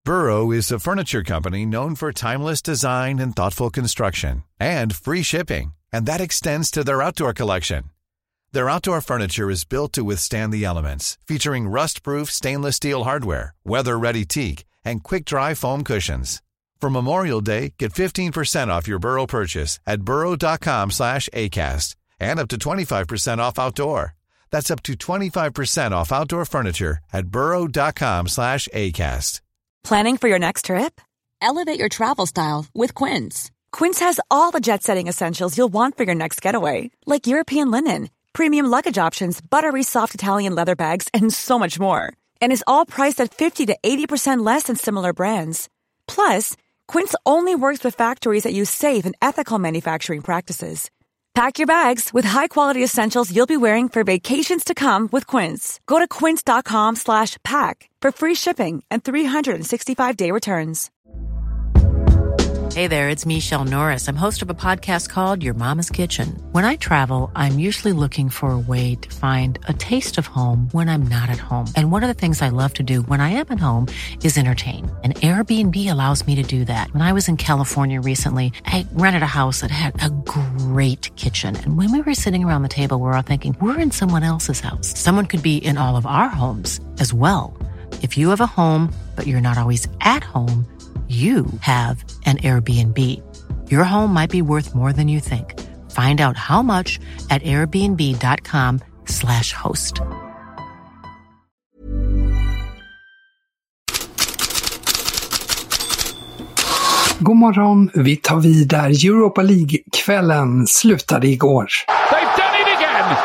Burrow is a furniture company known for timeless design and thoughtful construction, and free shipping, and that extends to their outdoor collection. Their outdoor furniture is built to withstand the elements, featuring rust-proof stainless steel hardware, weather-ready teak, and quick-dry foam cushions. For Memorial Day, get 15% off your Burrow purchase at burrow.com/acast, and up to 25% off outdoor. That's up to 25% off outdoor furniture at burrow.com/acast. Planning for your next trip? Elevate your travel style with Quince. Quince has all the jet-setting essentials you'll want for your next getaway, like European linen, premium luggage options, buttery soft Italian leather bags, and so much more. And is all priced at 50 to 80% less than similar brands. Plus, Quince only works with factories that use safe and ethical manufacturing practices. Pack your bags with high-quality essentials you'll be wearing for vacations to come with Quince. Go to quince.com/pack for free shipping and 365-day returns. Hey there, it's Michelle Norris. I'm host of a podcast called Your Mama's Kitchen. When I travel, I'm usually looking for a way to find a taste of home when I'm not at home. And one of the things I love to do when I am at home is entertain. And Airbnb allows me to do that. When I was in California recently, I rented a house that had a great kitchen. And when we were sitting around the table, we were all thinking, we're in someone else's house. Someone could be in all of our homes as well. If you have a home, but you're not always at home, you have an Airbnb. Your home might be worth more than you think. Find out how much at airbnb.com/host. God morgon, vi tar vid där Europa League-kvällen slutade igår. They've done it again!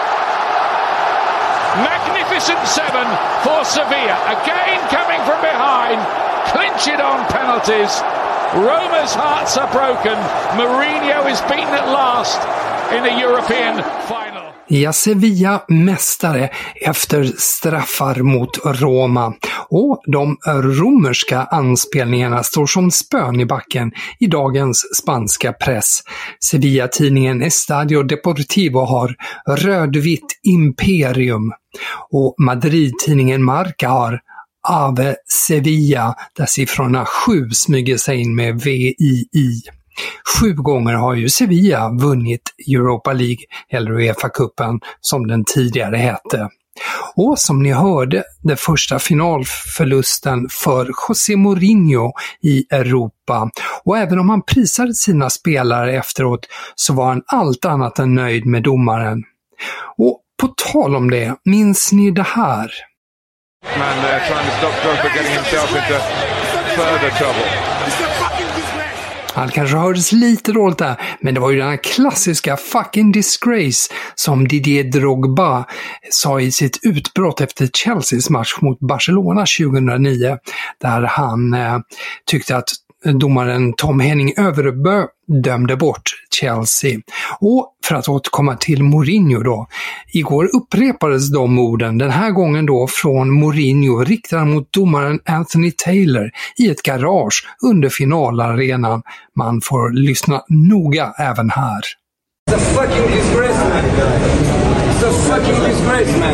Magnificent 7 for Sevilla, again coming from behind. Clinch it on penalties. Roma's hearts are broken. Mourinho is beaten at last in the European final. Ja, Sevilla mästare efter straffar mot Roma. Och de romerska anspelningarna står som spön i backen i dagens spanska press. Sevilla-tidningen Estadio Deportivo har rödvitt imperium. Och Madrid-tidningen Marca har Ave Sevilla, där siffrorna 7 smyger sig in med VII. 7 gånger har ju Sevilla vunnit Europa League, eller UEFA-cupen som den tidigare hette. Och som ni hörde, den första finalförlusten för José Mourinho i Europa. Och även om han prisade sina spelare efteråt så var han allt annat än nöjd med domaren. Och på tal om det, minns ni det här? Man trying to stop Drogba getting himself into further trouble. Han kanske hördes lite dåligt där, men det var ju den här klassiska fucking disgrace som Didier Drogba sa i sitt utbrott efter Chelseas match mot Barcelona 2009, där han tyckte att domaren Tom Henning Överbø dömde bort Chelsea. Och för att återkomma till Mourinho då. Igår upprepades de orden, den här gången då från Mourinho riktad mot domaren Anthony Taylor i ett garage under finalarenan. Man får lyssna noga även här. It's a fucking disgrace, man. It's a fucking disgrace, man.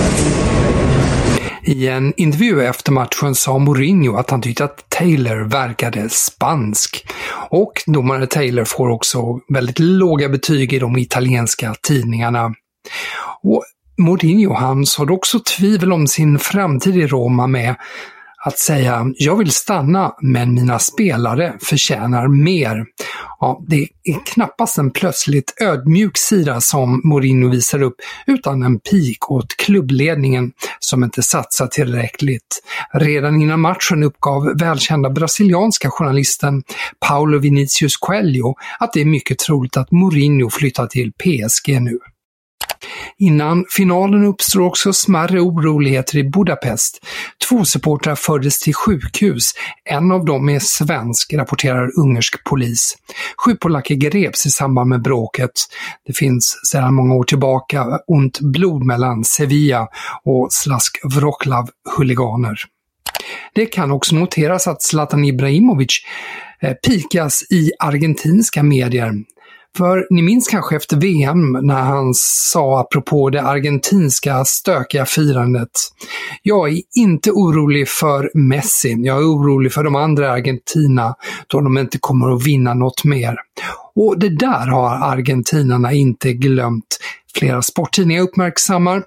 I en intervju efter matchen sa Mourinho att han tyckte att Taylor verkade spansk. Och domare Taylor får också väldigt låga betyg i de italienska tidningarna. Och Mourinho han såg också tvivel om sin framtid i Roma med att säga, jag vill stanna men mina spelare förtjänar mer. Ja, det är knappast en plötsligt ödmjuk sida som Mourinho visar upp utan en pik åt klubbledningen som inte satsar tillräckligt. Redan innan matchen uppgav välkända brasilianska journalisten Paulo Vinicius Coelho att det är mycket troligt att Mourinho flyttar till PSG nu. Innan finalen uppstår också smärre oroligheter i Budapest. 2 supportrar fördes till sjukhus. En av dem är svensk, rapporterar ungersk polis. 7 polacker greps i samband med bråket. Det finns sedan många år tillbaka ont blod mellan Sevilla och Slask Wroclaw-huliganer. Det kan också noteras att Zlatan Ibrahimovic pikas i argentinska medier. För ni minns kanske efter VM när han sa apropå det argentinska stökiga firandet: jag är inte orolig för Messi, jag är orolig för de andra Argentina då de inte kommer att vinna något mer. Och det där har argentinarna inte glömt. Flera sporttidningar uppmärksammar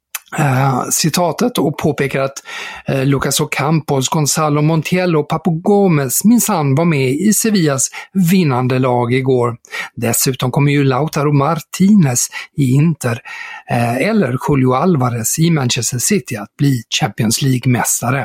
citatet och påpekar att Lucas Ocampos, Gonzalo Montiel och Papu Gómez minsann var med i Sevillas vinnande lag igår. Dessutom kommer ju Lautaro Martinez i Inter eller Julio Alvarez i Manchester City att bli Champions League-mästare.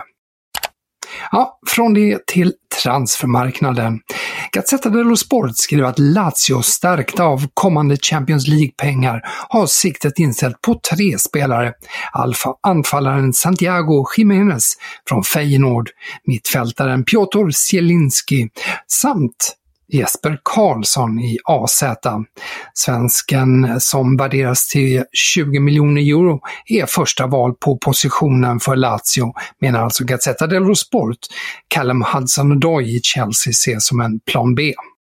Ja, från det till transfermarknaden. Gazzetta dello Sport skriver att Lazio, stärkta av kommande Champions League-pengar, har siktet inställt på 3 spelare. Anfallaren Santiago Jiménez från Feyenoord, mittfältaren Piotr Zielinski samt Jesper Karlsson i AZ. Svensken, som värderas till 20 miljoner euro, är första val på positionen för Lazio, menar alltså Gazzetta dello Sport. Callum Hudson-Odoi i Chelsea ses som en plan B.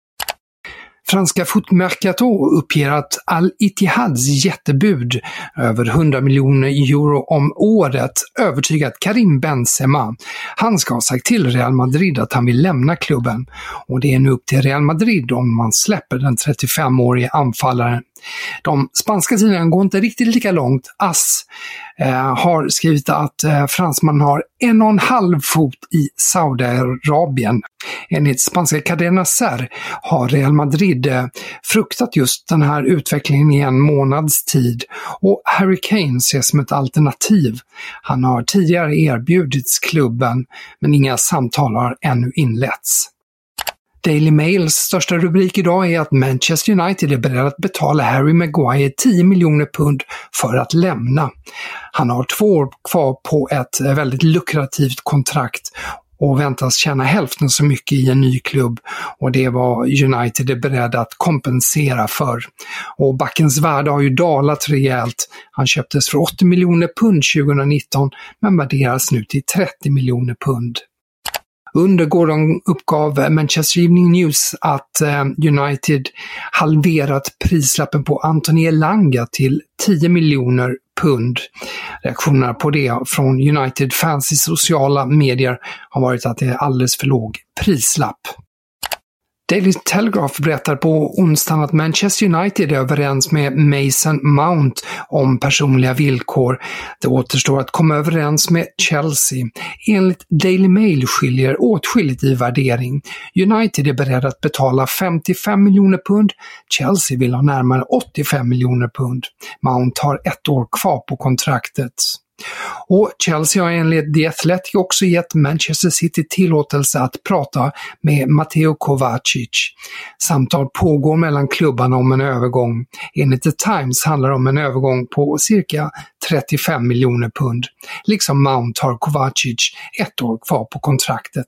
Franska Footmercato uppger att Al-Ittihads jättebud över 100 miljoner euro om året övertygat Karim Benzema. Han ska ha sagt till Real Madrid att han vill lämna klubben, och det är nu upp till Real Madrid om man släpper den 35-årige anfallaren. De spanska tidningarna går inte riktigt lika långt. AS har skrivit att fransmannen har 1,5 fot i Saudiarabien. Enligt spanska Cadena Ser har Real Madrid fruktat just den här utvecklingen i en månads tid, och Harry Kane ses som ett alternativ. Han har tidigare erbjudits klubben, men inga samtal har ännu inletts. Daily Mails största rubrik idag är att Manchester United är beredd att betala Harry Maguire 10 miljoner pund för att lämna. Han har 2 år kvar på ett väldigt lukrativt kontrakt och väntas tjäna hälften så mycket i en ny klubb, och det var United är beredd att kompensera för. Och backens värde har ju dalat rejält. Han köptes för 80 miljoner pund 2019 men värderas nu till 30 miljoner pund. Under gårdagen uppgav Manchester Evening News att United halverat prislappen på Anthony Elanga till 10 miljoner pund. Reaktionerna på det från United-fans i sociala medier har varit att det är alldeles för låg prislapp. Daily Telegraph berättar på onsdagen att Manchester United är överens med Mason Mount om personliga villkor. Det återstår att komma överens med Chelsea. Enligt Daily Mail skiljer åtskilligt i värdering. United är beredd att betala 55 miljoner pund. Chelsea vill ha närmare 85 miljoner pund. Mount har 1 år kvar på kontraktet. Och Chelsea har enligt The Athletic också gett Manchester City tillåtelse att prata med Mateo Kovacic. Samtal pågår mellan klubbarna om en övergång. Enligt The Times handlar det om en övergång på cirka 35 miljoner pund. Liksom Mount har Kovacic 1 år kvar på kontraktet.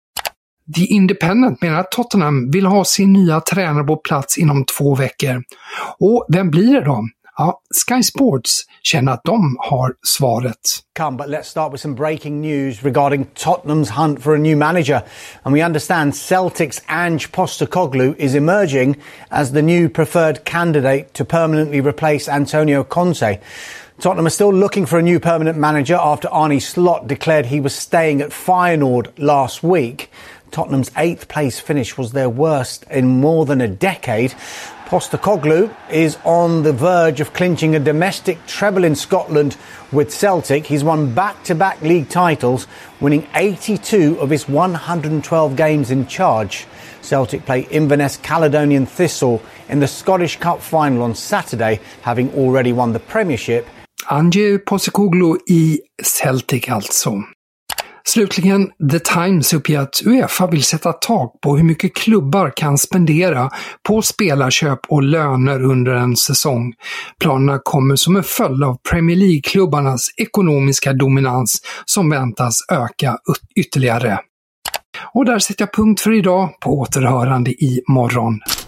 The Independent menar att Tottenham vill ha sin nya tränare på plats inom 2 veckor. Och vem blir det då? Ja, Sky Sports känner att de har svaret. But let's start with some breaking news regarding Tottenham's hunt for a new manager. And we understand Celtic's Ange Postecoglou is emerging as the new preferred candidate to permanently replace Antonio Conte. Tottenham are still looking for a new permanent manager after Arne Slot declared he was staying at Feyenoord last week. Tottenham's 8th place finish was their worst in more than a decade. Postecoglou is on the verge of clinching a domestic treble in Scotland with Celtic. He's won back-to-back league titles, winning 82 of his 112 games in charge. Celtic play Inverness Caledonian Thistle in the Scottish Cup final on Saturday, having already won the Premiership. Ange Postecoglou i Celtic alltså. Slutligen, The Times uppger att UEFA vill sätta tak på hur mycket klubbar kan spendera på spelarköp och löner under en säsong. Planerna kommer som en följd av Premier League-klubbarnas ekonomiska dominans som väntas öka ytterligare. Och där sätter jag punkt för idag, på återhörande i morgon.